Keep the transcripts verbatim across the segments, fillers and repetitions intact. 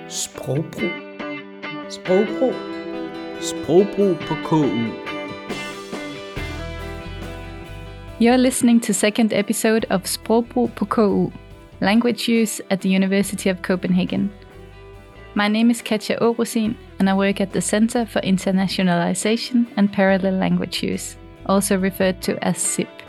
Sprogbrug. Sprogbrug. Sprogbrug på K U. You're listening to second episode of Sprogbrug på K U, Language Use at the University of Copenhagen. My name is Katja Aarusin, and I work at the Center for Internationalization and Parallel Language Use, also referred to as C I P.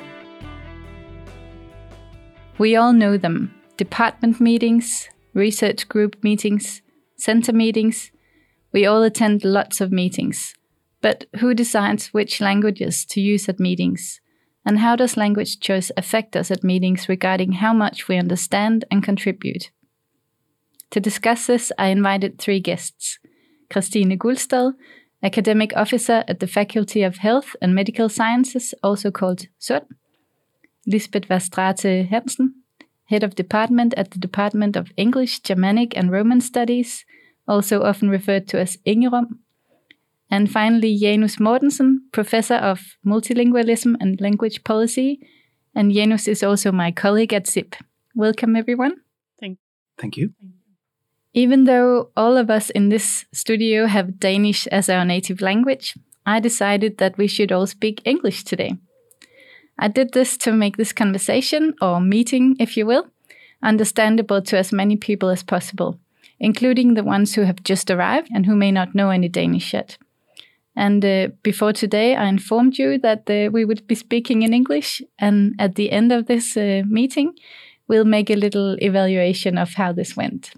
We all know them: department meetings, research group meetings, center meetings. We all attend lots of meetings. But who decides which languages to use at meetings? And how does language choice affect us at meetings regarding how much we understand and contribute? To discuss this, I invited three guests. Christine Guldstad, Academic Officer at the Faculty of Health and Medical Sciences, also called SUND. Lisbeth Verstraete Hansen, Head of Department at the Department of English, Germanic and Roman Studies, also often referred to as Ingerum. And finally, Janus Mortensen, Professor of Multilingualism and Language Policy. And Janus is also my colleague at C I P. Welcome, everyone. Thank, Thank you. Even though all of us in this studio have Danish as our native language, I decided that we should all speak English today. I did this to make this conversation, or meeting, if you will, understandable to as many people as possible, including the ones who have just arrived and who may not know any Danish yet. And uh, before today, I informed you that uh, we would be speaking in English, and at the end of this uh, meeting, we'll make a little evaluation of how this went.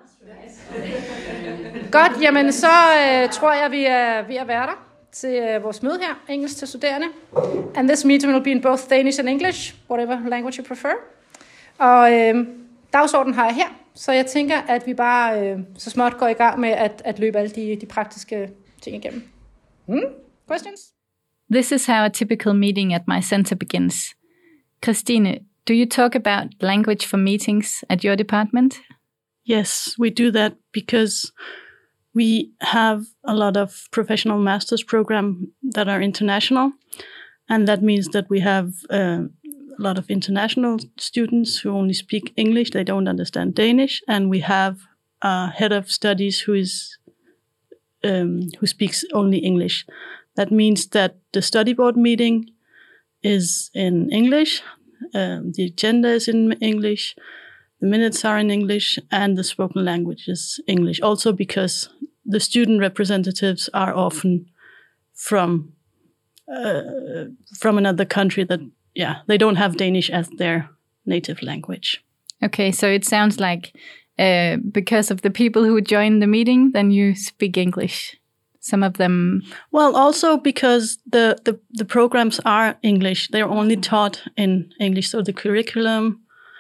Godt, jamen så øh, tror jeg, vi er ved at være der til øh, vores møde her, engelsk til studerende. And this meeting will be in both Danish and English, whatever language you prefer. Og øh, dagsordenen har jeg her, så jeg tænker, at vi bare øh, så småt går i gang med at, at løbe alle de, de praktiske ting igennem. Hmm? Questions? This is how a typical meeting at my center begins. Christine, do you talk about language for meetings at your department? Yes, we do that because we have a lot of professional master's programs that are international, and that means that we have uh, a lot of international students who only speak English, they don't understand Danish, and we have a head of studies who is um, who speaks only English. That means that the study board meeting is in English, um, the agenda is in English, the minutes are in English, and the spoken language is English. Also because the student representatives are often from uh, from another country that, yeah, they don't have Danish as their native language. Okay, so it sounds like uh, because of the people who join the meeting, then you speak English. Some of them... Well, also because the, the, the programs are English. They're only taught in English. So the curriculum...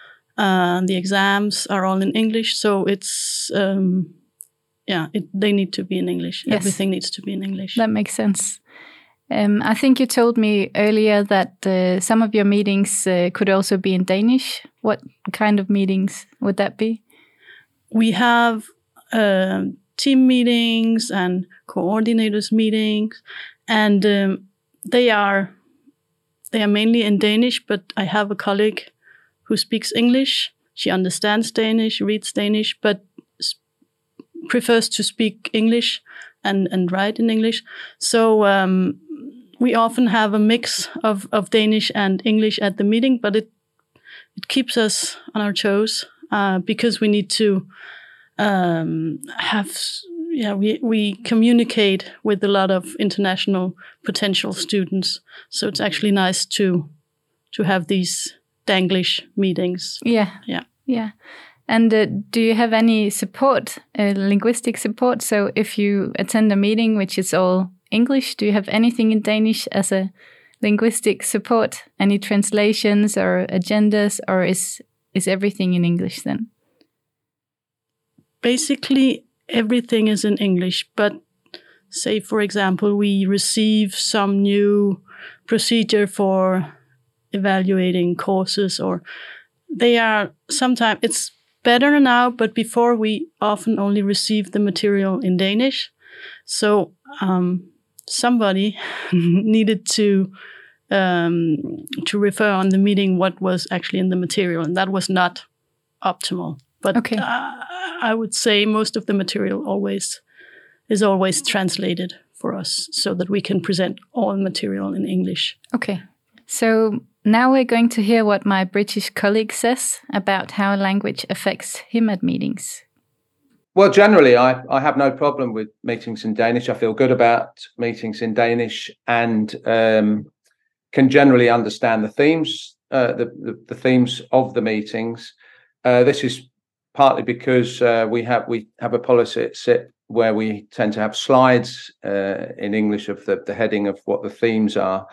Uh, the exams are all in English, so it's, um, yeah, it, they need to be in English. Yes. Everything needs to be in English. That makes sense. Um, I think you told me earlier that uh, some of your meetings uh, could also be in Danish. What kind of meetings would that be? We have uh, team meetings and coordinators meetings, and um, they are they are mainly in Danish, but I have a colleague who speaks English. She understands Danish, reads Danish, but sp- prefers to speak English and, and write in English. So um, we often have a mix of, of Danish and English at the meeting, but it it keeps us on our toes uh, because we need to um, have, yeah, we, we communicate with a lot of international potential students. So it's actually nice to to have these Danglish meetings. Yeah. Yeah. Yeah. And uh, do you have any support, uh, linguistic support? So if you attend a meeting which is all English, do you have anything in Danish as a linguistic support? Any translations or agendas, or is is everything in English then? Basically, everything is in English, but say, for example, we receive some new procedure for evaluating courses, or they are sometimes, it's better now, but before we often only receive the material in Danish. So um, somebody needed to um, to refer on the meeting what was actually in the material, and that was not optimal. But okay. uh, I would say most of the material always is always translated for us so that we can present all material in English. Okay. So now we're going to hear what my British colleague says about how language affects him at meetings. Well, generally, I, I have no problem with meetings in Danish. I feel good about meetings in Danish and um, can generally understand the themes, uh, the, the, the themes of the meetings. Uh, this is partly because uh, we have we have a policy at S I T where we tend to have slides uh, in English of the, the heading of what the themes are.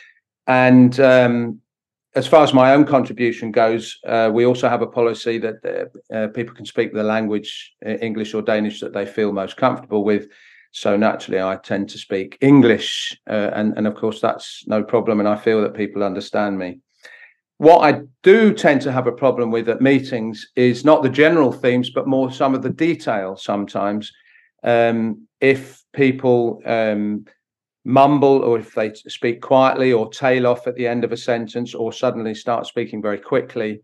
And um, as far as my own contribution goes, uh, we also have a policy that uh, uh, people can speak the language, uh, English or Danish, that they feel most comfortable with. So naturally, I tend to speak English. Uh, and, and of course, that's no problem. And I feel that people understand me. What I do tend to have a problem with at meetings is not the general themes, but more some of the detail sometimes. Um, if people um, mumble, or if they speak quietly or tail off at the end of a sentence, or suddenly start speaking very quickly,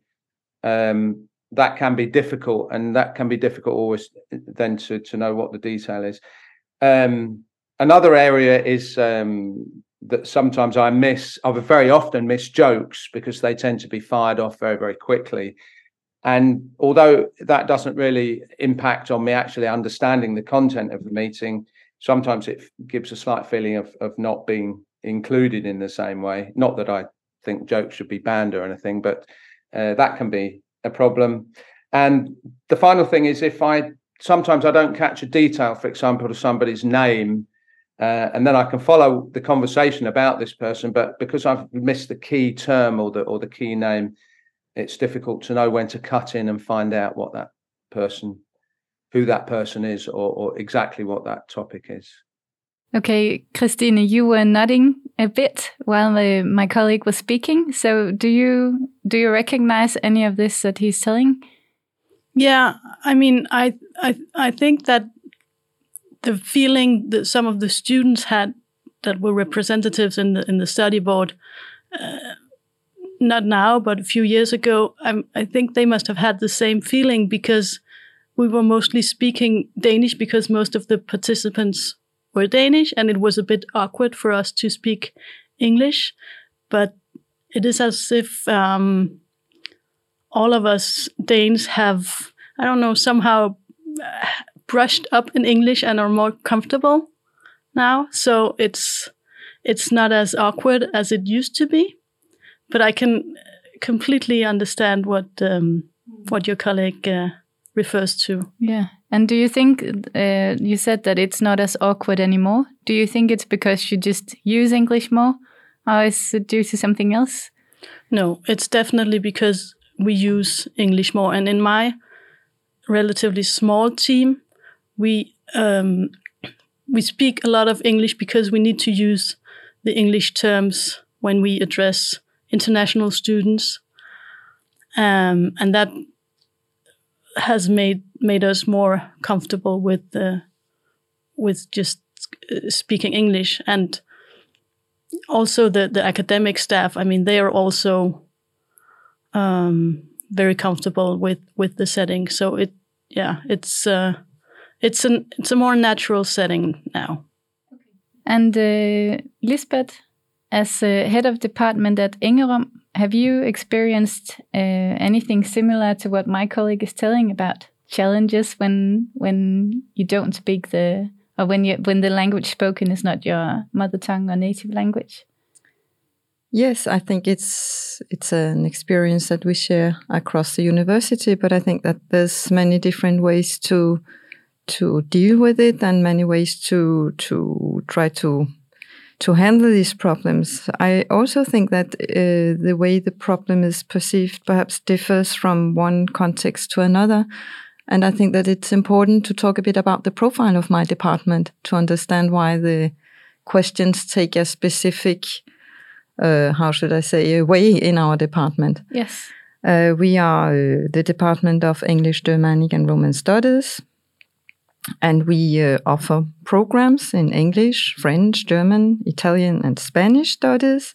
um, that can be difficult. And that can be difficult always then to, to know what the detail is. Um, another area is um, that sometimes I miss, I very often miss jokes because they tend to be fired off very, very quickly. And although that doesn't really impact on me actually understanding the content of the meeting, sometimes it gives a slight feeling of, of not being included in the same way. Not that I think jokes should be banned or anything, but uh, that can be a problem. And the final thing is if I, sometimes I don't catch a detail, for example, to somebody's name, uh, and then I can follow the conversation about this person, but because I've missed the key term or the or the key name, it's difficult to know when to cut in and find out what that person, who that person is, or, or exactly what that topic is. Okay, Christine, you were nodding a bit while uh, my colleague was speaking. So do you do you recognize any of this that he's telling? Yeah, I mean, I I I think that the feeling that some of the students had that were representatives in the in the study board, uh, not now, but a few years ago, I, I think they must have had the same feeling because we were mostly speaking Danish because most of the participants were Danish, and it was a bit awkward for us to speak English. But it is as if um, all of us Danes have, I don't know, somehow brushed up in English and are more comfortable now. So it's it's not as awkward as it used to be. But I can completely understand what um, what your colleague uh, refers to. Yeah. And do you think, uh, you said that it's not as awkward anymore. Do you think it's because you just use English more? Or is it due to something else? No, it's definitely because we use English more. And in my relatively small team, we um, we speak a lot of English because we need to use the English terms when we address international students, um, and that has made made us more comfortable with the with just speaking English. And also the the academic staff, I mean, they are also um, very comfortable with with the setting. So it yeah, it's uh, it's an it's a more natural setting now. And uh, Lisbeth, as uh, head of department at Engerum, have you experienced uh, anything similar to what my colleague is telling about challenges when when you don't speak the or when you when the language spoken is not your mother tongue or native language? Yes, I think it's it's an experience that we share across the university, but I think that there's many different ways to to deal with it and many ways to to try to to handle these problems. I also think that uh, the way the problem is perceived perhaps differs from one context to another. And I think that it's important to talk a bit about the profile of my department to understand why the questions take a specific, uh, how should I say, way in our department. Yes. Uh, we are uh, the Department of English, Germanic and Roman Studies. And we uh, offer programs in English, French, German, Italian, and Spanish studies,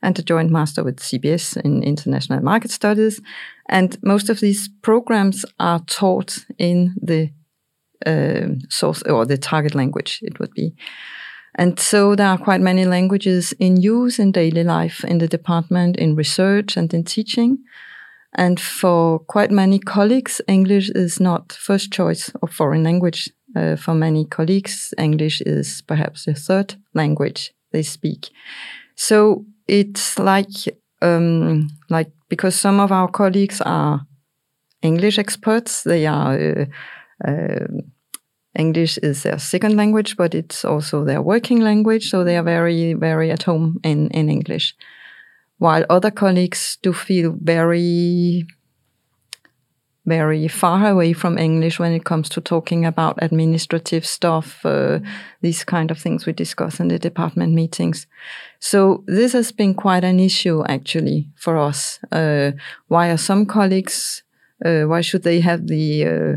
and a joint master with C B S in International Market Studies. And most of these programs are taught in the uh, source or the target language, it would be. And so there are quite many languages in use in daily life in the department, in research and in teaching. And for quite many colleagues, English is not first choice of foreign language. Uh, for many colleagues, English is perhaps the third language they speak. So it's like, um, like because some of our colleagues are English experts, they are, uh, uh, English is their second language, but it's also their working language, so they are very, very at home in, in English. While other colleagues do feel very, very far away from English when it comes to talking about administrative stuff, uh, these kind of things we discuss in the department meetings. So this has been quite an issue actually for us. Uh, why are some colleagues, uh, why should they have the uh,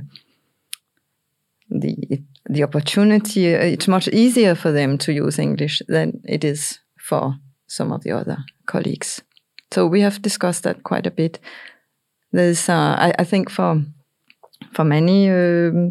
the the opportunity? It's much easier for them to use English than it is for some of the other colleagues. So we have discussed that quite a bit. There's, uh, I, I think, for for many um,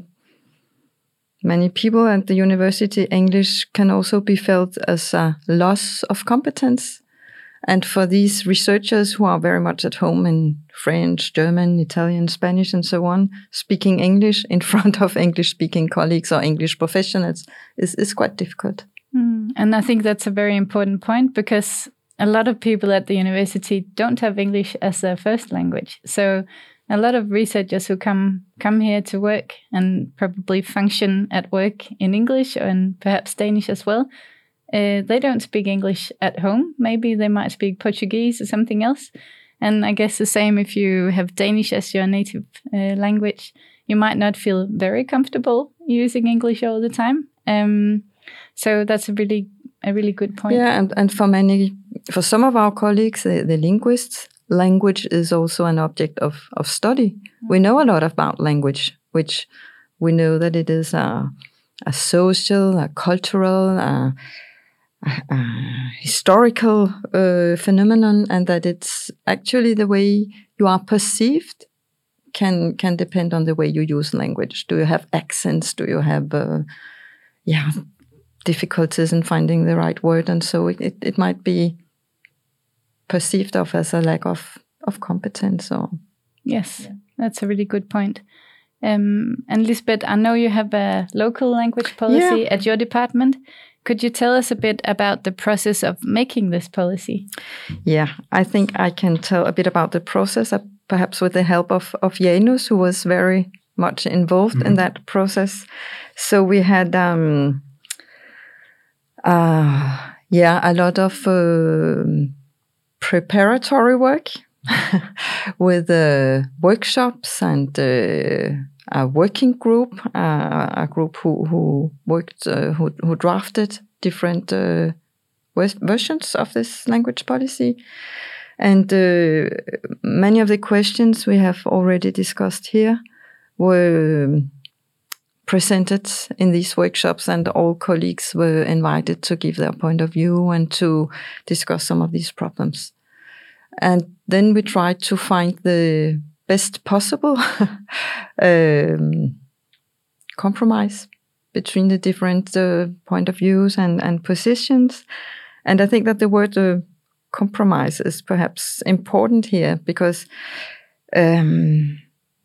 many people at the university, English can also be felt as a loss of competence. And for these researchers who are very much at home in French, German, Italian, Spanish, and so on, speaking English in front of English-speaking colleagues or English professionals is, is quite difficult. Mm. And I think that's a very important point, because a lot of people at the university don't have English as their first language. So a lot of researchers who come come here to work and probably function at work in English and perhaps Danish as well, uh, they don't speak English at home. Maybe they might speak Portuguese or something else. And I guess the same if you have Danish as your native uh, language. You might not feel very comfortable using English all the time. Um, so that's a really a really good point. Yeah, and, and for many, for some of our colleagues, the, the linguists, language is also an object of, of study. Mm-hmm. We know a lot about language, which we know that it is a, a social, a cultural, a, a, a historical uh, phenomenon, and that it's actually the way you are perceived can can depend on the way you use language. Do you have accents? Do you have, uh, yeah, difficulties in finding the right word? And so it, it, it might be perceived of as a lack of, of competence. Or Yes, yeah. That's a really good point. Um, and Lisbeth, I know you have a local language policy yeah. at your department. Could you tell us a bit about the process of making this policy? Yeah, I think I can tell a bit about the process, uh, perhaps with the help of, of Janus, who was very much involved mm-hmm. in that process. So we had, um, uh, yeah, a lot of uh, preparatory work with uh, workshops and uh, a working group, uh, a group who who worked, uh, who who drafted different uh, versions of this language policy, and uh, many of the questions we have already discussed here were presented in these workshops, and all colleagues were invited to give their point of view and to discuss some of these problems. And then we tried to find the best possible um, compromise between the different uh, point of views and, and positions. And I think that the word uh, compromise is perhaps important here, because um,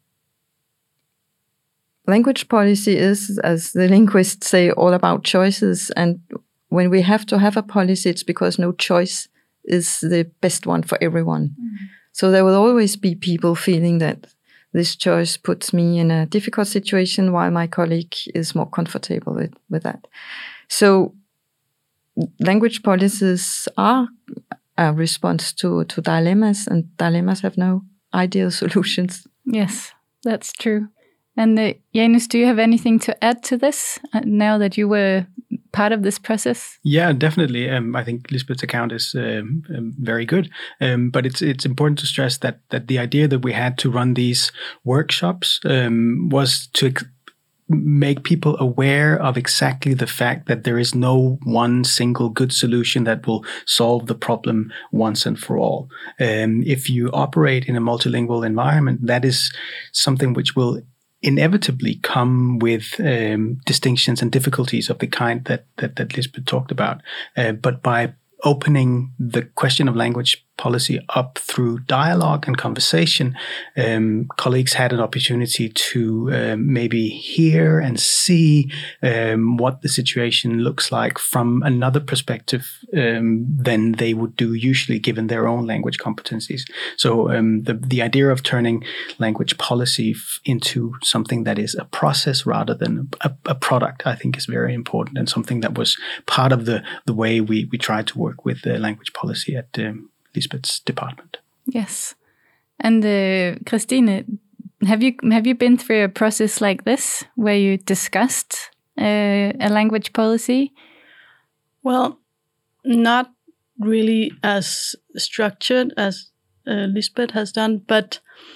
language policy is, as the linguists say, all about choices. And when we have to have a policy, it's because no choice is the best one for everyone. Mm-hmm. So there will always be people feeling that this choice puts me in a difficult situation while my colleague is more comfortable with, with that. So language policies are a response to, to dilemmas, and dilemmas have no ideal solutions. Yes, that's true. And uh, Janus, do you have anything to add to this uh, now that you were part of this process? Yeah, definitely. Um, I think Lisbeth's account is um, um, very good, um, but it's it's important to stress that that the idea that we had to run these workshops um, was to ex- make people aware of exactly the fact that there is no one single good solution that will solve the problem once and for all. Um, if you operate in a multilingual environment, that is something which will inevitably come with um, distinctions and difficulties of the kind that that, that Lisbeth talked about. Uh, but by opening the question of language policy up through dialogue and conversation, um, colleagues had an opportunity to um, maybe hear and see um, what the situation looks like from another perspective um, than they would do usually given their own language competencies. So um, the, the idea of turning language policy f- into something that is a process rather than a, a product, I think is very important, and something that was part of the, the way we, we tried to work with the language policy at um, Lisbeth's department. Yes. And uh, Christine, have you have you been through a process like this where you discussed uh, a language policy? Well, not really as structured as uh, Lisbeth has done, but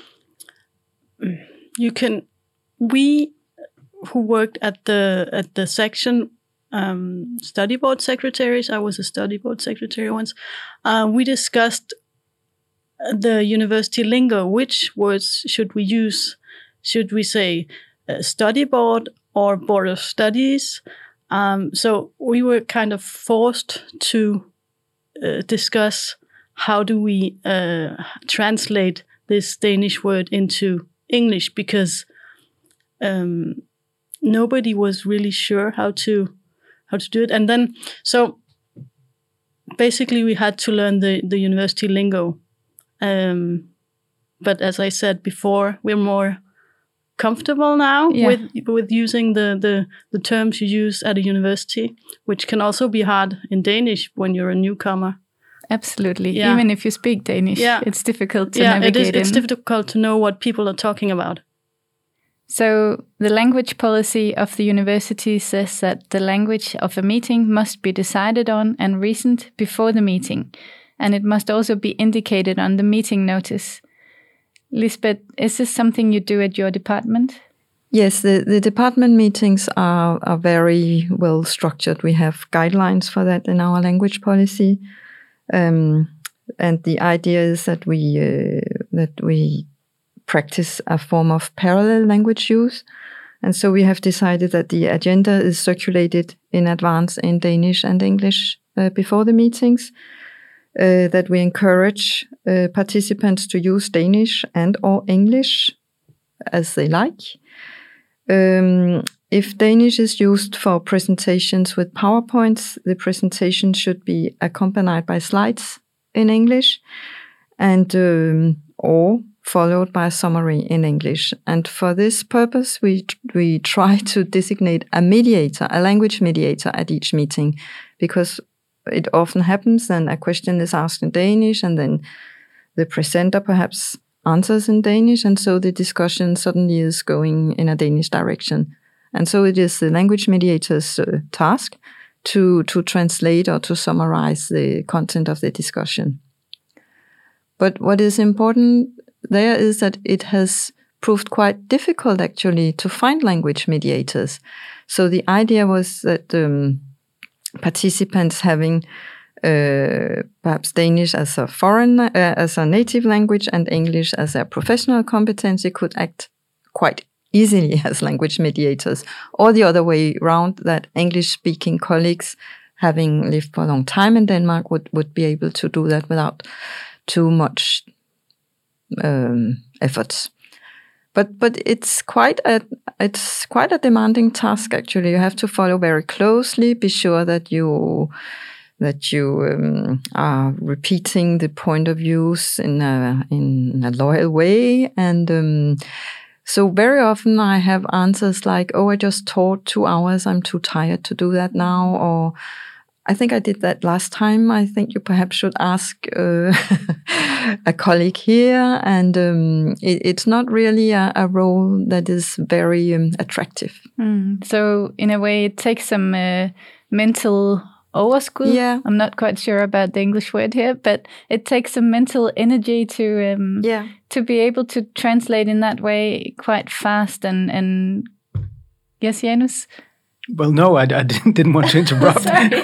you can. We who worked at the at the section. Um, study board secretaries. I was a study board secretary once. Uh, we discussed the university lingo. Which words should we use? Should we say uh, study board or board of studies? Um, so we were kind of forced to uh, discuss how do we uh, translate this Danish word into English, because um, nobody was really sure how to how to do it. And then, so basically we had to learn the, the university lingo. Um, but as I said before, we're more comfortable now yeah. with with using the, the, the terms you use at a university, which can also be hard in Danish when you're a newcomer. Absolutely. Yeah. Even if you speak Danish, yeah. it's difficult to yeah, navigate it is, it's in. difficult to know what people are talking about. So the language policy of the university says that the language of a meeting must be decided on and reasoned before the meeting, and it must also be indicated on the meeting notice. Lisbeth, is this something you do at your department? Yes, the, the department meetings are, are very well structured. We have guidelines for that in our language policy. Um, and the idea is that we uh, that we practice a form of parallel language use. And so we have decided that the agenda is circulated in advance in Danish and English uh, before the meetings, uh, that we encourage uh, participants to use Danish and or English as they like. Um, if Danish is used for presentations with PowerPoints, the presentation should be accompanied by slides in English and um, or followed by a summary in English. And for this purpose, we we try to designate a mediator, a language mediator at each meeting, because it often happens then a question is asked in Danish and then the presenter perhaps answers in Danish, and so the discussion suddenly is going in a Danish direction. And so it is the language mediator's uh, task to, to translate or to summarize the content of the discussion. But what is important there is that it has proved quite difficult actually to find language mediators. So the idea was that um, participants having uh, perhaps Danish as a foreign, uh, as a native language and English as a professional competency could act quite easily as language mediators, or the other way around, that English-speaking colleagues having lived for a long time in Denmark would, would be able to do that without too much um, efforts. But but it's quite a it's quite a demanding task actually. You have to follow very closely, be sure that you that you um, are repeating the point of views in a in a loyal way, and um, so very often I have answers like, "Oh, I just taught two hours. I'm too tired to do that now," or "I think I did that last time. I think you perhaps should ask uh, a colleague here." And um, it, it's not really a, a role that is very um, attractive. Mm. So in a way, it takes some uh, mental overskud. Yeah. I'm not quite sure about the English word here, but it takes some mental energy to um, Yeah. to be able to translate in that way quite fast and and Yes, Janus? Well, no, I, I didn't, didn't want to interrupt.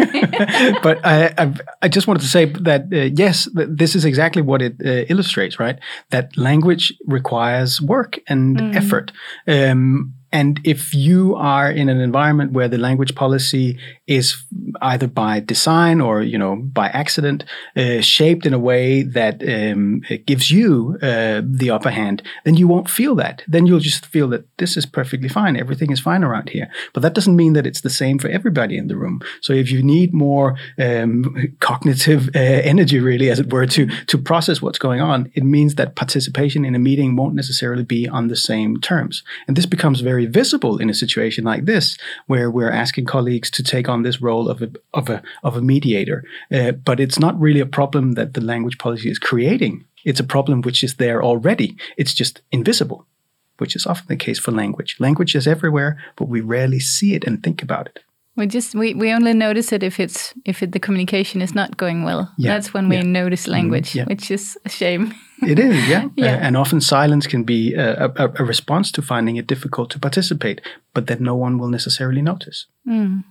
But I, I, I just wanted to say that, uh, yes, th- this is exactly what it uh, illustrates, right? That language requires work and mm. effort. Um, and if you are in an environment where the language policy is either by design or, you know, by accident, uh, shaped in a way that um, it gives you uh, the upper hand, then you won't feel that. Then you'll just feel that this is perfectly fine. Everything is fine around here. But that doesn't mean that it's the same for everybody in the room. So if you need more um, cognitive uh, energy, really, as it were, to, to process what's going on, it means that participation in a meeting won't necessarily be on the same terms. And this becomes very visible in a situation like this, where we're asking colleagues to take on this role of a of a of a mediator. Uh, but it's not really a problem that the language policy is creating. It's a problem which is there already. It's just invisible, which is often the case for language. Language is everywhere, but we rarely see it and think about it. We just we, we only notice it if it's if it, the communication is not going well. Yeah. That's when we yeah. notice language, mm, yeah. which is a shame. It is, yeah. yeah. Uh, and often silence can be a, a, a response to finding it difficult to participate, but that no one will necessarily notice. Mm.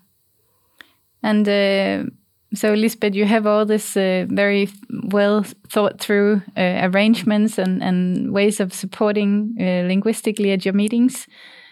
And uh, so, Lisbeth, you have all this uh, very well thought through uh, arrangements and, and ways of supporting uh, linguistically at your meetings.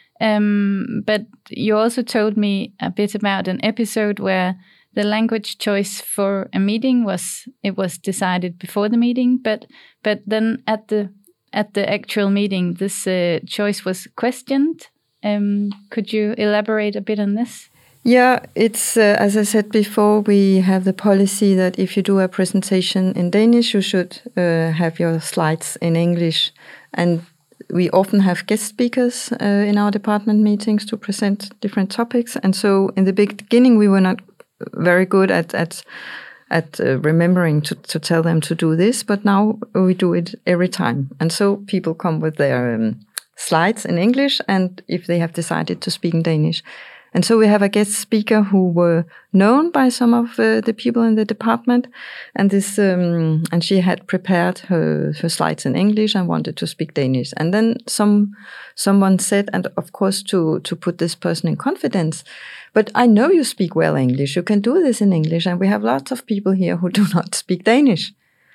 Um, but you also told me a bit about an episode where the language choice for a meeting was it was decided before the meeting, but but then at the at the actual meeting, this uh, choice was questioned. Um, could you elaborate a bit on this? Yeah, it's uh, as I said before, we have the policy that if you do a presentation in Danish, you should uh, have your slides in English, and we often have guest speakers uh, in our department meetings to present different topics. And so in the beginning, we were not very good at at at uh, remembering to, to tell them to do this, but now we do it every time. And so people come with their um, slides in English, and if they have decided to speak in Danish. And so we have a guest speaker who were known by some of uh, the people in the department, and this um, and she had prepared her, her slides in English and wanted to speak Danish. And then some someone said, and of course to to put this person in confidence, but I know you speak well English. You can do this in English, and we have lots of people here who do not speak Danish.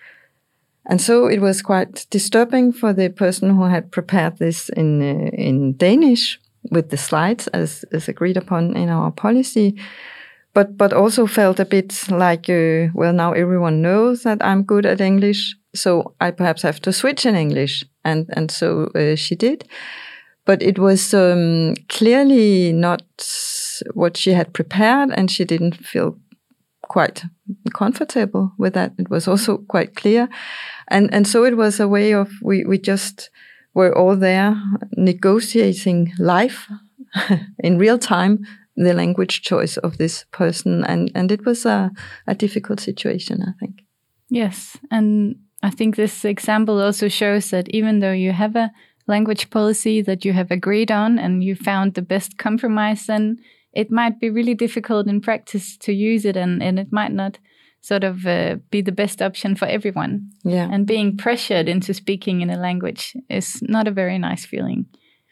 And so it was quite disturbing for the person who had prepared this in uh, in Danish with the slides as, as agreed upon in our policy, but but also felt a bit like, uh, well, now everyone knows that I'm good at English, so I perhaps have to switch in English. And, and so uh, she did. But it was um, clearly not what she had prepared, and she didn't feel quite comfortable with that. It was also quite clear. And, and so it was a way of, we, we just... we're all there negotiating life in real time, the language choice of this person. And, and it was a, a difficult situation, I think. Yes. And I think this example also shows that even though you have a language policy that you have agreed on and you found the best compromise, then it might be really difficult in practice to use it, and, and it might not sort of uh, be the best option for everyone. Yeah. And being pressured into speaking in a language is not a very nice feeling.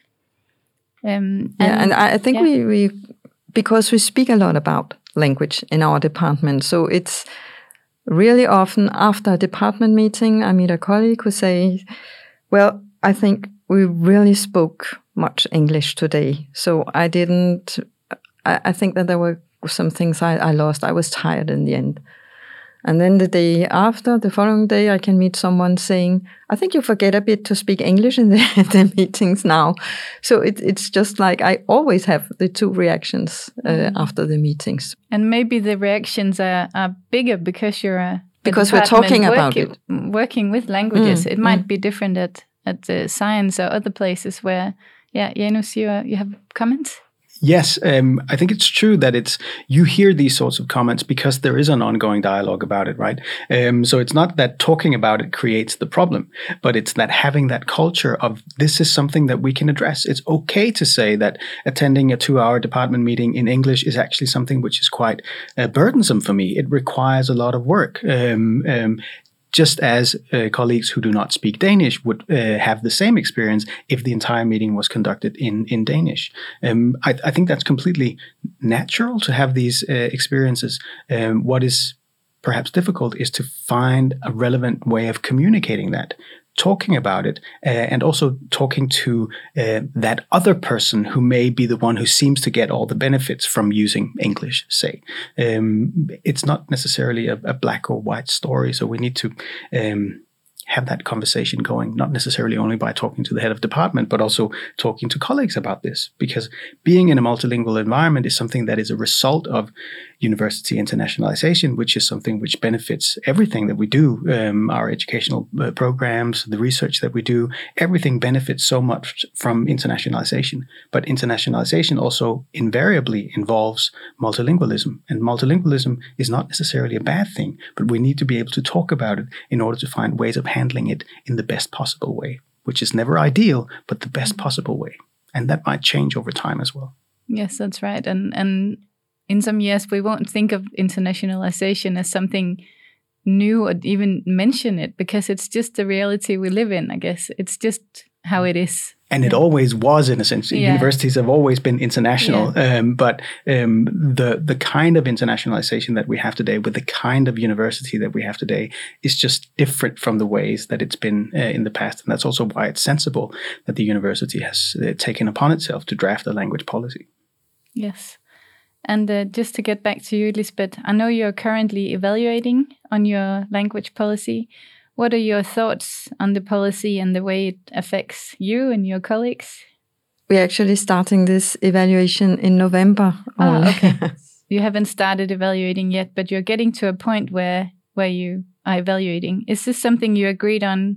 Um, and, yeah, and I think yeah. we, we, because we speak a lot about language in our department, so it's really often after a department meeting, I meet a colleague who say, well, I think we really spoke much English today. So I didn't, I, I think that there were some things I, I lost. I was tired in the end. And then the day after, the following day, I can meet someone saying, I think you forget a bit to speak English in the, the meetings now. So it, it's just like I always have the two reactions uh, mm. after the meetings. And maybe the reactions are, are bigger because you're a, because we're talking work, about it. Working with languages. Mm. It might mm. be different at, at uh, science or other places where, yeah, Janus, you, uh, you have comments? Yes, um, I think it's true that it's you hear these sorts of comments because there is an ongoing dialogue about it, right? Um, so it's not that talking about it creates the problem, but it's that having that culture of this is something that we can address. It's okay to say that attending a two-hour department meeting in English is actually something which is quite uh, burdensome for me. It requires a lot of work. Um, um, just as uh, colleagues who do not speak Danish would uh, have the same experience if the entire meeting was conducted in, in Danish. Um, I, I think that's completely natural to have these uh, experiences. Um, what is perhaps difficult is to find a relevant way of communicating that, talking about it, uh, and also talking to uh, that other person who may be the one who seems to get all the benefits from using English, say. Um, it's not necessarily a, a black or white story, so we need to um, have that conversation going, not necessarily only by talking to the head of department, but also talking to colleagues about this, because being in a multilingual environment is something that is a result of university internationalization, which is something which benefits everything that we do, um, our educational uh, programs, the research that we do, everything benefits so much from internationalization. But internationalization also invariably involves multilingualism, and multilingualism is not necessarily a bad thing, but we need to be able to talk about it in order to find ways of handling it in the best possible way, which is never ideal, but the best possible way. And that might change over time as well. Yes, that's right. And and in some years, we won't think of internationalization as something new or even mention it, because it's just the reality we live in, I guess. It's just how it is. And it always was, in a sense. Yeah. Universities have always been international, yeah. um, but um, the the kind of internationalization that we have today, with the kind of university that we have today, is just different from the ways that it's been uh, in the past. And that's also why it's sensible that the university has uh, taken upon itself to draft a language policy. Yes. And uh, just to get back to you, Lisbeth, I know you're currently evaluating on your language policy. What are your thoughts on the policy and the way it affects you and your colleagues? We're actually starting this evaluation in November. Ah, okay. You haven't started evaluating yet, but you're getting to a point where where you are evaluating. Is this something you agreed on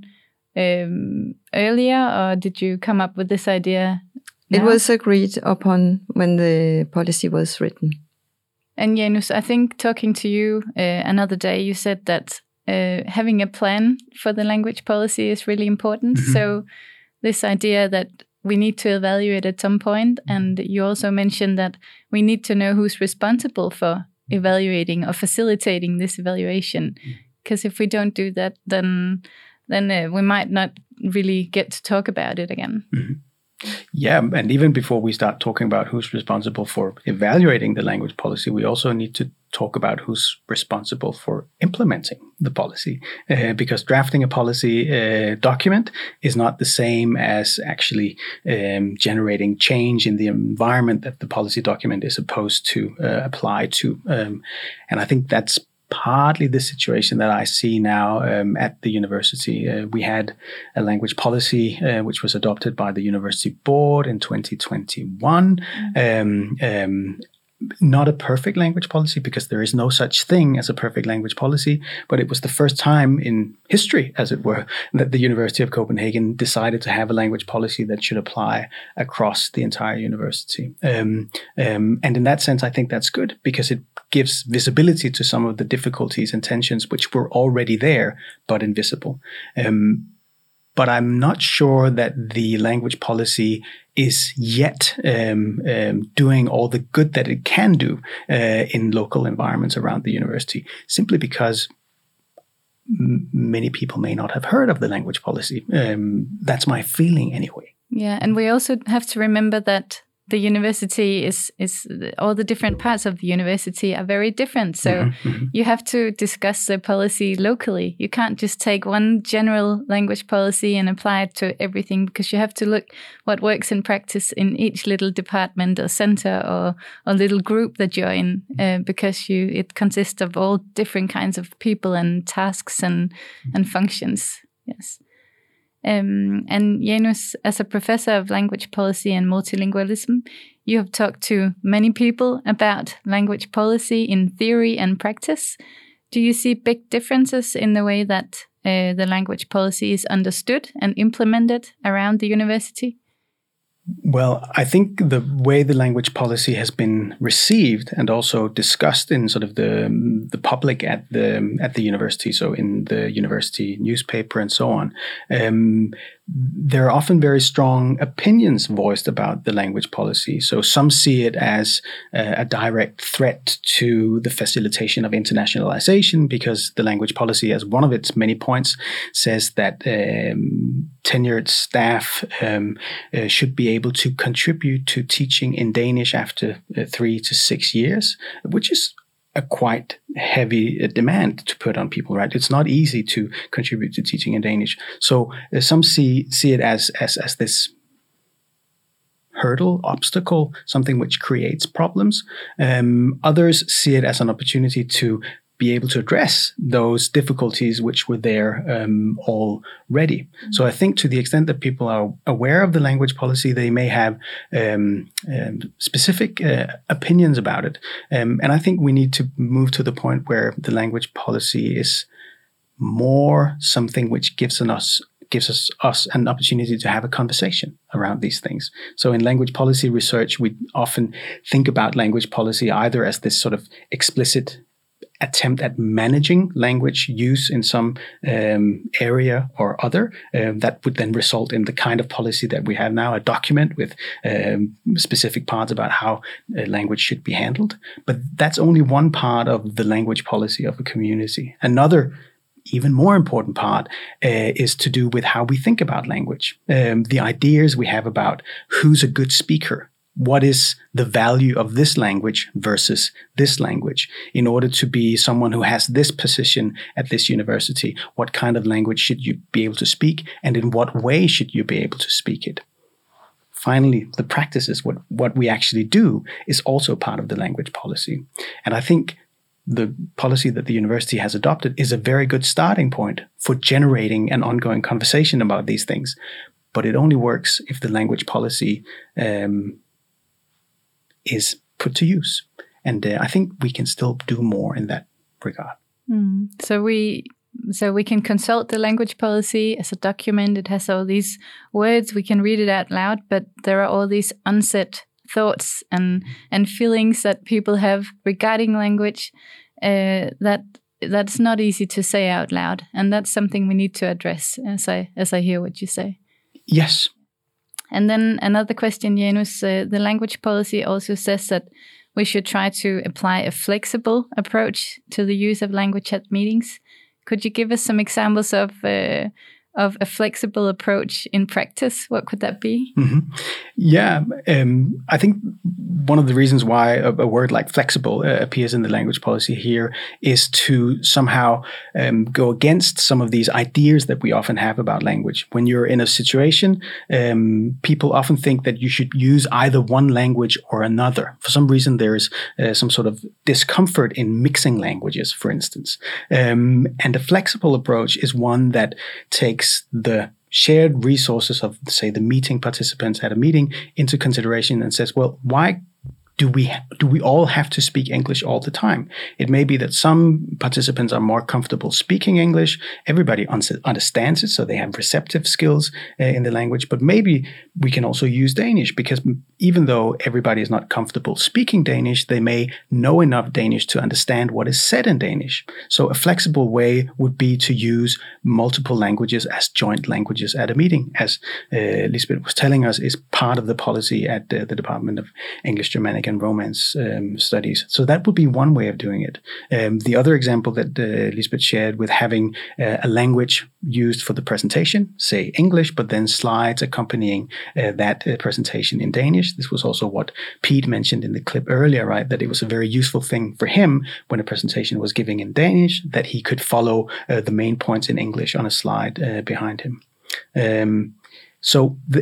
um, earlier, or did you come up with this idea now? It was agreed upon when the policy was written. And Janus, I think talking to you uh, another day, you said that Uh, having a plan for the language policy is really important. Mm-hmm. So this idea that we need to evaluate at some point, and you also mentioned that we need to know who's responsible for evaluating or facilitating this evaluation. Because if we don't do that, then then uh, we might not really get to talk about it again. Mm-hmm. Yeah, and even before we start talking about who's responsible for evaluating the language policy, we also need to talk about who's responsible for implementing the policy, uh, because drafting a policy uh, document is not the same as actually um, generating change in the environment that the policy document is supposed to uh, apply to. Um, and I think that's partly the situation that I see now um, at the university. Uh, we had a language policy uh, which was adopted by the university board in twenty twenty-one. Mm-hmm. Um, um, not a perfect language policy, because there is no such thing as a perfect language policy, but it was the first time in history, as it were, that the University of Copenhagen decided to have a language policy that should apply across the entire university. Um, um, and in that sense, I think that's good, because it gives visibility to some of the difficulties and tensions which were already there, but invisible. Um, but I'm not sure that the language policy is yet um, um, doing all the good that it can do uh, in local environments around the university, simply because m- many people may not have heard of the language policy. Um, that's my feeling anyway. Yeah, and we also have to remember that the university is, is all the different parts of the university are very different. So mm-hmm, mm-hmm. you have to discuss the policy locally. You can't just take one general language policy and apply it to everything, because you have to look what works in practice in each little department or center or, or little group that you're in, uh, because you it consists of all different kinds of people and tasks and, and functions. Yes. Um, and Janus, as a professor of language policy and multilingualism, you have talked to many people about language policy in theory and practice. Do you see big differences in the way that uh, the language policy is understood and implemented around the university? Well, I think the way the language policy has been received and also discussed in sort of the the public at the at the university, so in the university newspaper and so on, um, there are often very strong opinions voiced about the language policy. So some see it as uh, a direct threat to the facilitation of internationalization, because the language policy, as one of its many points, says that um, tenured staff um, uh, should be able to contribute to teaching in Danish after uh, three to six years, which is a quite heavy demand to put on people, right? It's not easy to contribute to teaching in Danish. So uh, some see see it as as as this hurdle, obstacle, something which creates problems. Um, others see it as an opportunity to be able to address those difficulties which were there um, already. Mm-hmm. So I think to the extent that people are aware of the language policy, they may have um, um, specific uh, opinions about it. Um, and I think we need to move to the point where the language policy is more something which gives us gives us, us an opportunity to have a conversation around these things. So in language policy research, we often think about language policy either as this sort of explicit attempt at managing language use in some um, area or other um, that would then result in the kind of policy that we have now, a document with um, specific parts about how uh, language should be handled. But that's only one part of the language policy of a community. Another even more important part uh, is to do with how we think about language, um, the ideas we have about who's a good speaker. What is the value of this language versus this language? In order to be someone who has this position at this university, what kind of language should you be able to speak, and in what way should you be able to speak it? Finally, the practices, what, what we actually do, is also part of the language policy. And I think the policy that the university has adopted is a very good starting point for generating an ongoing conversation about these things. But it only works if the language policy um, is put to use. And uh, I think we can still do more in that regard. Mm. So we so we can consult the language policy as a document. It has all these words. We can read it out loud, but there are all these unsaid thoughts and and feelings that people have regarding language uh, that that's not easy to say out loud. And that's something we need to address, as I as I hear what you say. Yes. And then another question, Janus, uh, the language policy also says that we should try to apply a flexible approach to the use of language at meetings. Could you give us some examples of uh, of a flexible approach in practice? What could that be? Mm-hmm. Yeah, um, I think one of the reasons why a, a word like flexible uh, appears in the language policy here is to somehow um, go against some of these ideas that we often have about language. When you're in a situation, um, people often think that you should use either one language or another. For some reason, there's uh, some sort of discomfort in mixing languages, for instance. Um, and a flexible approach is one that takes the shared resources of, say, the meeting participants at a meeting into consideration and says, well, why do we do we all have to speak English all the time? It may be that some participants are more comfortable speaking English. Everybody un- understands it, so they have receptive skills uh, in the language. But maybe we can also use Danish, because even though everybody is not comfortable speaking Danish, they may know enough Danish to understand what is said in Danish. So a flexible way would be to use multiple languages as joint languages at a meeting, as uh, Lisbeth was telling us, is part of the policy at uh, the Department of English, Germanic and Romance um, Studies. So that would be one way of doing it. Um, the other example that uh, Lisbeth shared with having uh, a language used for the presentation, say English, but then slides accompanying uh, that uh, presentation in Danish. This was also what Pete mentioned in the clip earlier, right? That it was a very useful thing for him when a presentation was giving in Danish, that he could follow uh, the main points in English on a slide uh, behind him. Um, So the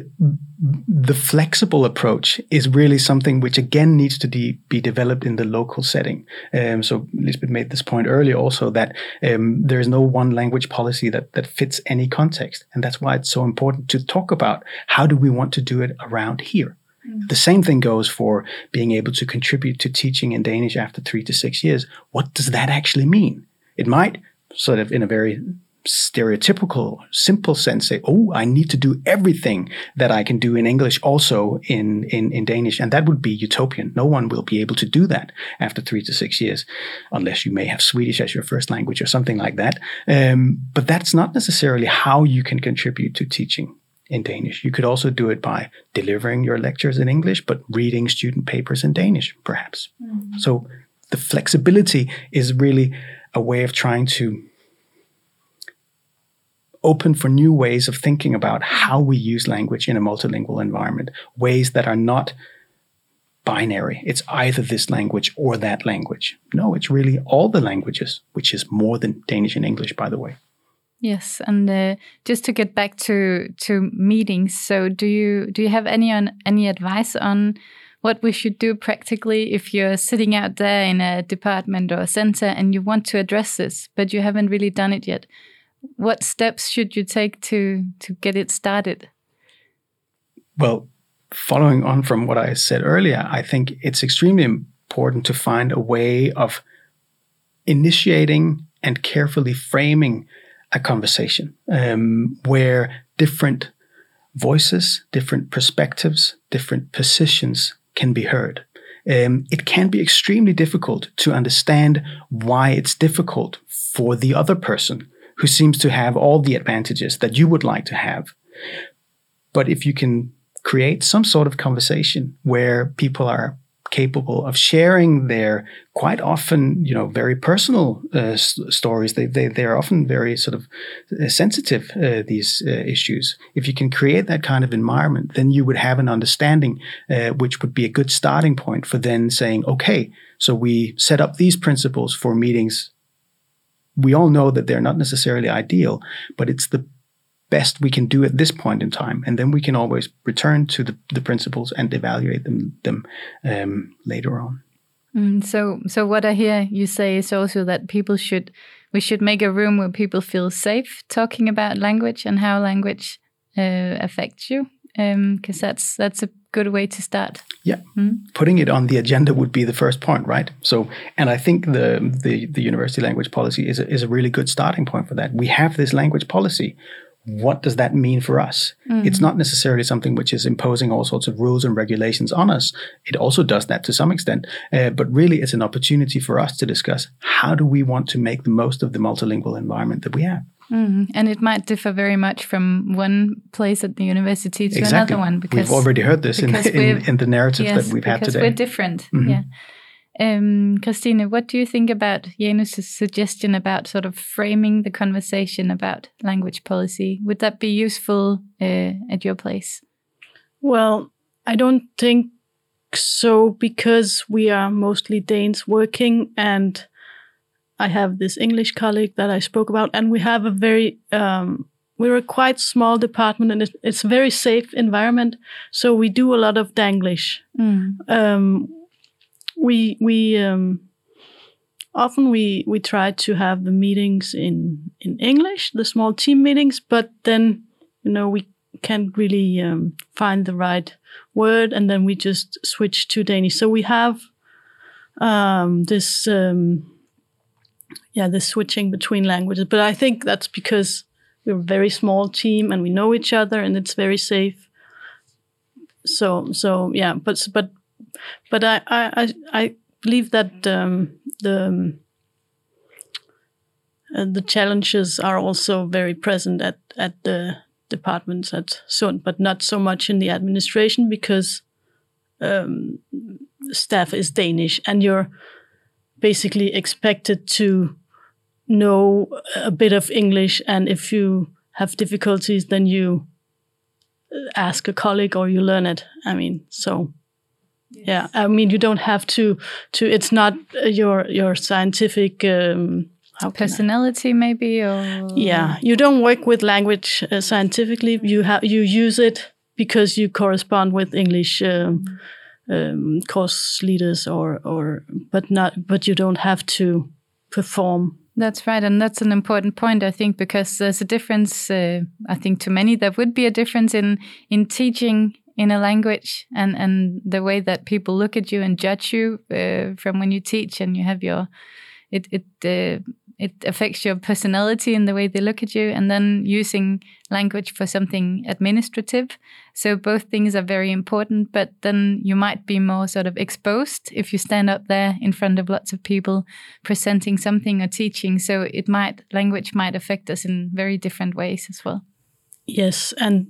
the flexible approach is really something which again needs to de- be developed in the local setting. Um, so Lisbeth made this point earlier also, that um, there is no one language policy that, that fits any context. And that's why it's so important to talk about how do we want to do it around here. Mm-hmm. The same thing goes for being able to contribute to teaching in Danish after three to six years. What does that actually mean? It might sort of in a very stereotypical, simple sense say, oh, I need to do everything that I can do in English also in, in, in Danish. And that would be utopian. No one will be able to do that after three to six years, unless you may have Swedish as your first language or something like that. Um, but that's not necessarily how you can contribute to teaching. in Danish. You could also do it by delivering your lectures in English, but reading student papers in Danish, perhaps. Mm-hmm. So the flexibility is really a way of trying to open for new ways of thinking about how we use language in a multilingual environment, ways that are not binary. It's either this language or that language. No, it's really all the languages, which is more than Danish and English, by the way. Yes, and uh, just to get back to to meetings, so do you do you have any on any advice on what we should do practically if you're sitting out there in a department or a center and you want to address this, but you haven't really done it yet? What steps should you take to to get it started? Well, following on from what I said earlier, I think it's extremely important to find a way of initiating and carefully framing a conversation um, where different voices, different perspectives, different positions can be heard. Um, it can be extremely difficult to understand why it's difficult for the other person who seems to have all the advantages that you would like to have. But if you can create some sort of conversation where people are capable of sharing their quite often, you know, very personal uh, s- stories, they, they, they're often very sort of uh, sensitive, uh, these uh, issues. If you can create that kind of environment, then you would have an understanding uh, which would be a good starting point for then saying, okay, so we set up these principles for meetings. We all know that they're not necessarily ideal, but it's the best we can do at this point in time, and then we can always return to the, the principles and evaluate them them um, later on. Mm, so, so what I hear you say is also that people should we should make a room where people feel safe talking about language and how language uh, affects you, because um, that's that's a good way to start. Yeah, mm. Putting it on the agenda would be the first point, right? So, and I think the the, the university language policy is a, is a really good starting point for that. We have this language policy. What does that mean for us? Mm. It's not necessarily something which is imposing all sorts of rules and regulations on us. It also does that to some extent, uh, but really it's an opportunity for us to discuss how do we want to make the most of the multilingual environment that we have. Mm. And it might differ very much from one place at the university to exactly. another one. Because we've already heard this in, in, in the narrative yes, that we've had today. Because we're different, mm-hmm. yeah. Um, Christine, what do you think about Janus' suggestion about sort of framing the conversation about language policy? Would that be useful uh, at your place? Well, I don't think so, because we are mostly Danes working, and I have this English colleague that I spoke about, and we have a very, um, we're a quite small department, and it's, it's a very safe environment. So we do a lot of Danglish. Mm. Um, We we um, often we we try to have the meetings in, in English, the small team meetings, but then you know we can't really um, find the right word, and then we just switch to Danish. So we have um, this um, yeah this switching between languages, but I think that's because we're a very small team and we know each other, and it's very safe. So so yeah, but but. But I, I, I believe that um, the um, uh, the challenges are also very present at, at the departments at Sund, but not so much in the administration, because um, staff is Danish, and you're basically expected to know a bit of English, and if you have difficulties, then you ask a colleague or you learn it. I mean, so... Yes. Yeah, I mean, you don't have to. To it's not your your scientific um, how personality, I, maybe, or yeah, you don't work with language uh, scientifically. You have you use it because you correspond with English um, um, course leaders, or or but not. But you don't have to perform. That's right, and that's an important point, I think, because there's a difference. Uh, I think to many there would be a difference in in teaching in a language, and, and the way that people look at you and judge you uh, from when you teach, and you have your, it it uh, it affects your personality in the way they look at you, and then using language for something administrative. So both things are very important, but then you might be more sort of exposed if you stand up there in front of lots of people presenting something or teaching. So it might, language might affect us in very different ways as well. Yes, and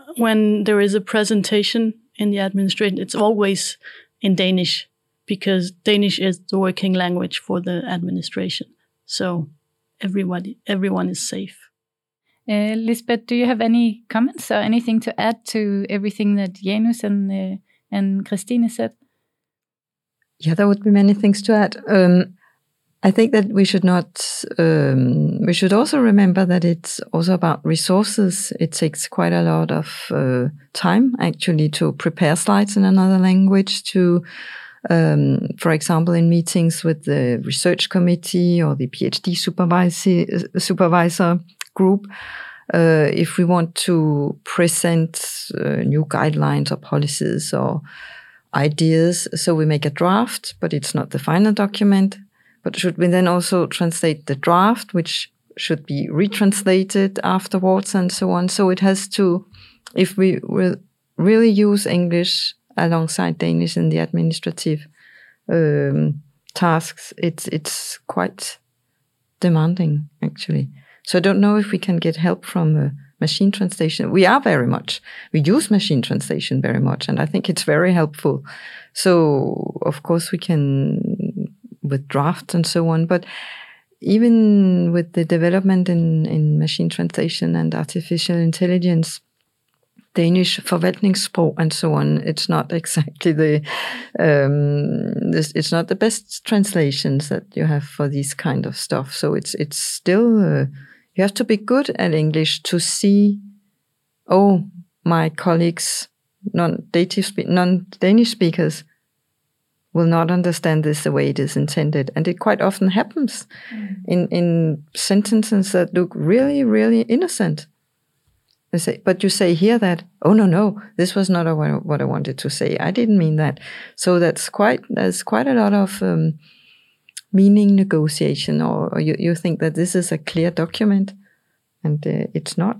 when there is a presentation in the administration, it's always in Danish because Danish is the working language for the administration. So everybody, everyone is safe. Uh, Lisbeth, do you have any comments or anything to add to everything that Janus and uh, and Christine said? Yeah, there would be many things to add. Um, I think that we should not. Um, we should also remember that it's also about resources. It takes quite a lot of uh, time actually to prepare slides in another language. To, um, for example, in meetings with the research committee or the PhD supervisor supervisor group. Uh, if we want to present uh, new guidelines or policies or ideas, so we make a draft, but it's not the final document. But should we then also translate the draft, which should be retranslated afterwards and so on? So it has to, if we will really use English alongside Danish in the administrative um, tasks, it's it's quite demanding actually. So I don't know if we can get help from uh, machine translation. We are very much, we use machine translation very much, and I think it's very helpful. So of course we can, with drafts and so on, but even with the development in, in machine translation and artificial intelligence, Danish forvaltningssprog and so on, it's not exactly the, um, this, it's not the best translations that you have for these kind of stuff. So it's it's still, uh, you have to be good at English to see, oh, my colleagues, non-native spe- non-Danish speakers will not understand this the way it is intended. And it quite often happens mm. in, in sentences that look really, really innocent. They say, but you say here that, oh, no, no, this was not what I wanted to say. I didn't mean that. So that's quite, there's quite a lot of um, meaning negotiation, or, or you, you think that this is a clear document and uh, it's not.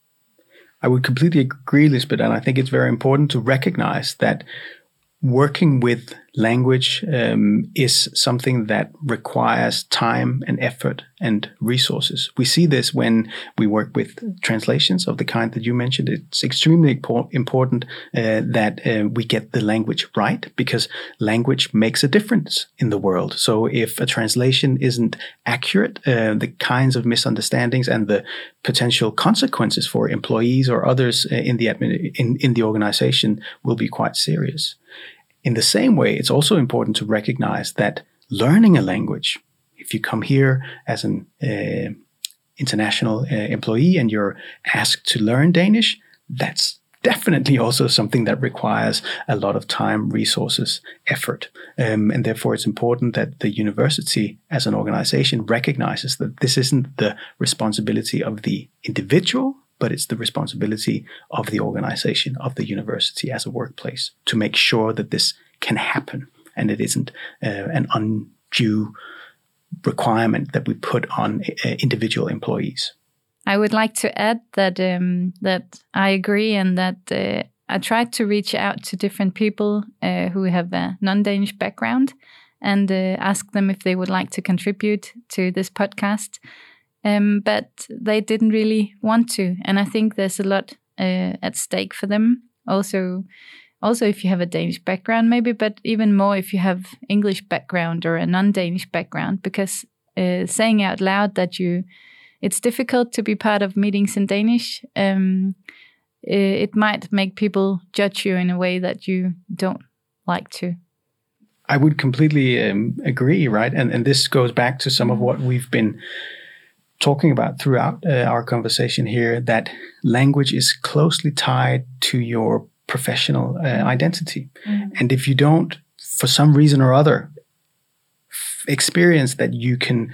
I would completely agree, Lisbeth, and I think it's very important to recognize that working with language um, is something that requires time and effort and resources. We see this when we work with translations of the kind that you mentioned. It's extremely important uh, that uh, we get the language right, because language makes a difference in the world. So if a translation isn't accurate, uh, the kinds of misunderstandings and the potential consequences for employees or others in the admin, in, in the organization will be quite serious. In the same way, it's also important to recognize that learning a language, if you come here as an uh, international uh, employee and you're asked to learn Danish, that's definitely also something that requires a lot of time, resources, effort. Um, and therefore, it's important that the university as an organization recognizes that this isn't the responsibility of the individual, but it's the responsibility of the organization, of the university as a workplace, to make sure that this can happen and it isn't uh, an undue requirement that we put on uh, individual employees. I would like to add that um, that I agree, and that uh, I tried to reach out to different people uh, who have a non-Danish background and uh, ask them if they would like to contribute to this podcast. Um, but they didn't really want to, and I think there's a lot uh, at stake for them. Also, also if you have a Danish background, maybe, but even more if you have English background or a non-Danish background, because uh, saying out loud that you, it's difficult to be part of meetings in Danish. Um, it might make people judge you in a way that you don't like to. I would completely um, agree, right? And and this goes back to some of what we've been talking about throughout uh, our conversation here, that language is closely tied to your professional uh, identity. Mm-hmm. And if you don't, for some reason or other, f- experience that you can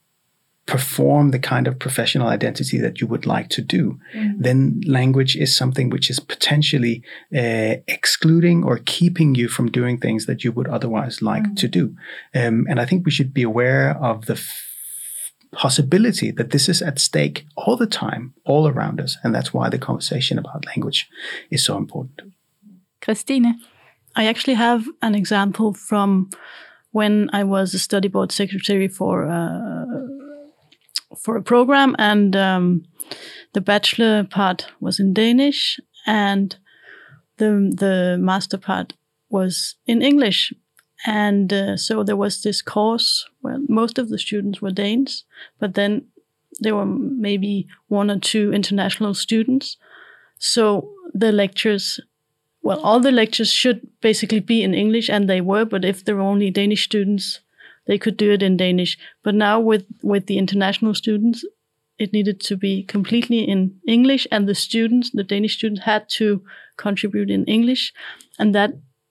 perform the kind of professional identity that you would like to do, mm-hmm. then language is something which is potentially uh, excluding or keeping you from doing things that you would otherwise like mm-hmm. to do. Um, and I think we should be aware of the f- possibility that this is at stake all the time, all around us. And that's why the conversation about language is so important. Christine? I actually have an example from when I was a study board secretary for uh, for a program, and um, the bachelor part was in Danish, and the the master part was in English. And uh, so there was this course where most of the students were Danes, but then there were maybe one or two international students. So the lectures, well, all the lectures should basically be in English, and they were, but if there were only Danish students, they could do it in Danish. But now with, with the international students, it needed to be completely in English, and the students, the Danish students, had to contribute in English, and that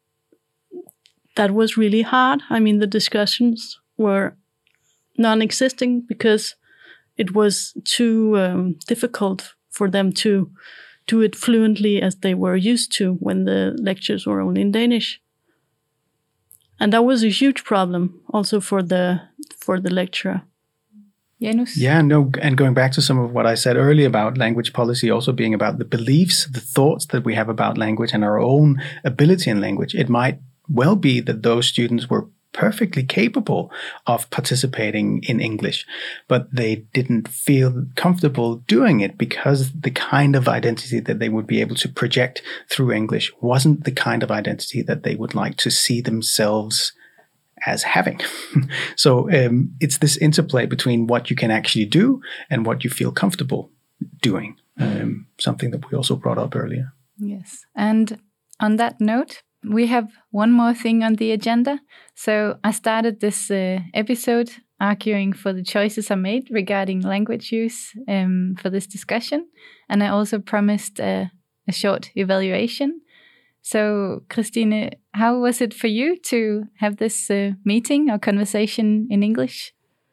that was really hard. I mean, the discussions were non-existing because it was too um, difficult for them to do it fluently as they were used to when the lectures were only in Danish. And that was a huge problem also for the for the lecturer. Janus? Yeah, no, and going back to some of what I said earlier about language policy also being about the beliefs, the thoughts that we have about language and our own ability in language, it might well be that those students were perfectly capable of participating in English, but they didn't feel comfortable doing it because the kind of identity that they would be able to project through English wasn't the kind of identity that they would like to see themselves as having. So um, it's this interplay between what you can actually do and what you feel comfortable doing, um, something that we also brought up earlier. Yes. And on that note, we have one more thing on the agenda. So I started this uh, episode arguing for the choices I made regarding language use um, for this discussion. And I also promised uh, a short evaluation. So, Christine, how was it for you to have this uh, meeting or conversation in English?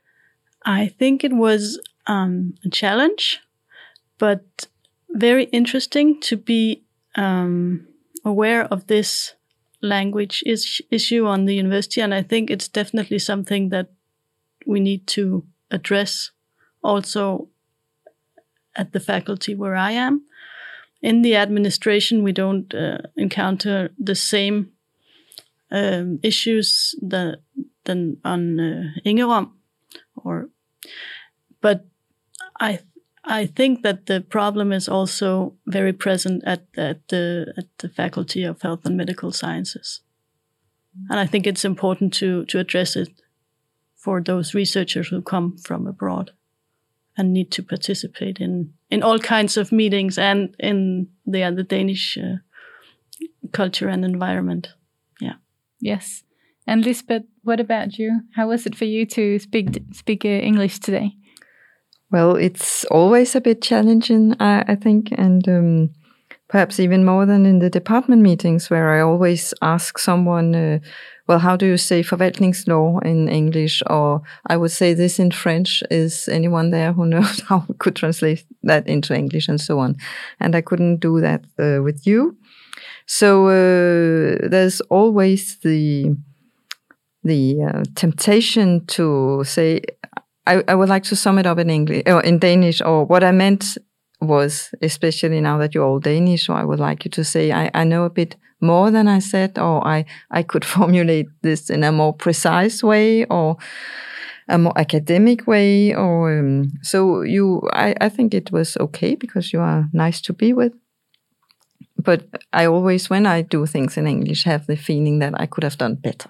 I think it was um, a challenge, but very interesting to be um, aware of this language is- issue on the university. And I think it's definitely something that we need to address also at the faculty where I am. In the administration, we don't uh, encounter the same um, issues that, than on uh, Ingerom, or, but I I think that the problem is also very present at, at the at the Faculty of Health and Medical Sciences, and I think it's important to to address it for those researchers who come from abroad and need to participate in, in all kinds of meetings and in the other Danish uh, culture and environment. Yeah. Yes. And Lisbeth, what about you? How was it for you to speak speak uh, English today? Well, it's always a bit challenging, I, I think, and um, perhaps even more than in the department meetings where I always ask someone, uh, well, how do you say forvaltningslov in English? Or I would say this in French. Is anyone there who knows how we could translate that into English and so on? And I couldn't do that uh, with you. So uh, there's always the the uh, temptation to say, I, I would like to sum it up in English or in Danish, or what I meant was, especially now that you're all Danish, so I would like you to say, I, I know a bit more than I said, or I, I could formulate this in a more precise way, or a more academic way, or um, so you, I, I think it was okay because you are nice to be with. But I always, when I do things in English, have the feeling that I could have done better.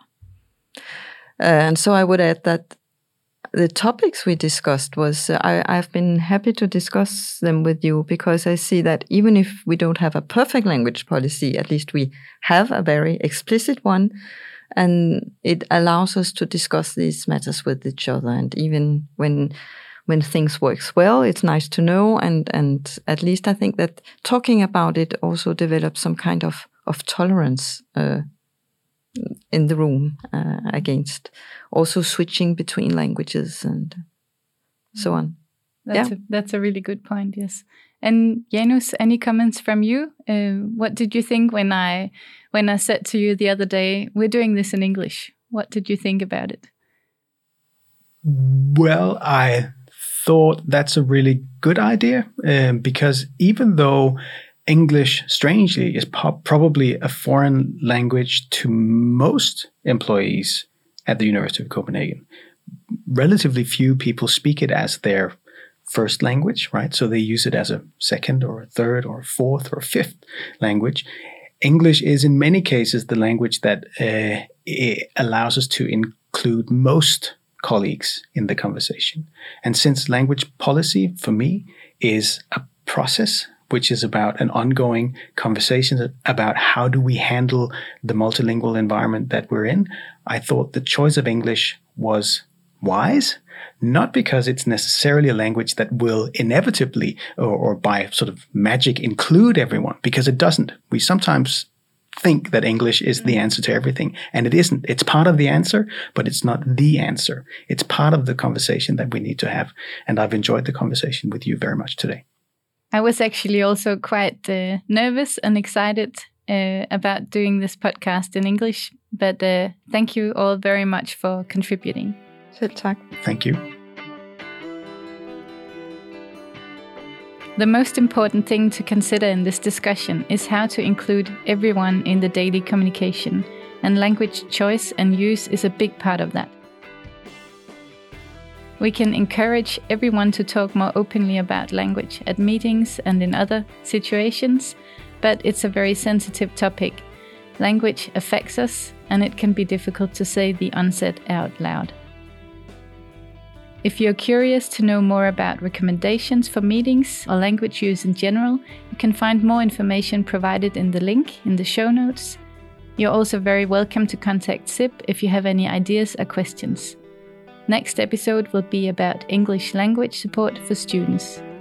Uh, and so I would add that the topics we discussed was, uh, I, I've been happy to discuss them with you because I see that even if we don't have a perfect language policy, at least we have a very explicit one, and it allows us to discuss these matters with each other. And even when when things works well, it's nice to know. And, and at least I think that talking about it also develops some kind of, of tolerance uh, in the room uh, against also switching between languages and so on. That's, yeah. a, that's a really good point, yes. And Janus, any comments from you? Uh, what did you think when I when I said to you the other day, we're doing this in English? What did you think about it? Well, I thought that's a really good idea um, because even though English, strangely, is po- probably a foreign language to most employees at the University of Copenhagen, relatively few people speak it as their first language, right? So they use it as a second or a third or a fourth or a fifth language. English is in many cases the language that uh, it allows us to include most colleagues in the conversation. And since language policy for me is a process which is about an ongoing conversation about how do we handle the multilingual environment that we're in, I thought the choice of English was wise, not because it's necessarily a language that will inevitably or, or by sort of magic include everyone, because it doesn't. We sometimes think that English is the answer to everything, and it isn't. It's part of the answer, but it's not the answer. It's part of the conversation that we need to have, and I've enjoyed the conversation with you very much today. I was actually also quite uh, nervous and excited uh, about doing this podcast in English, but uh, thank you all very much for contributing. Selv tak. Thank you. The most important thing to consider in this discussion is how to include everyone in the daily communication, and language choice and use is a big part of that. We can encourage everyone to talk more openly about language at meetings and in other situations, but it's a very sensitive topic. Language affects us, and it can be difficult to say the unsaid out loud. If you're curious to know more about recommendations for meetings or language use in general, you can find more information provided in the link in the show notes. You're also very welcome to contact S I P if you have any ideas or questions. Next episode will be about English language support for students.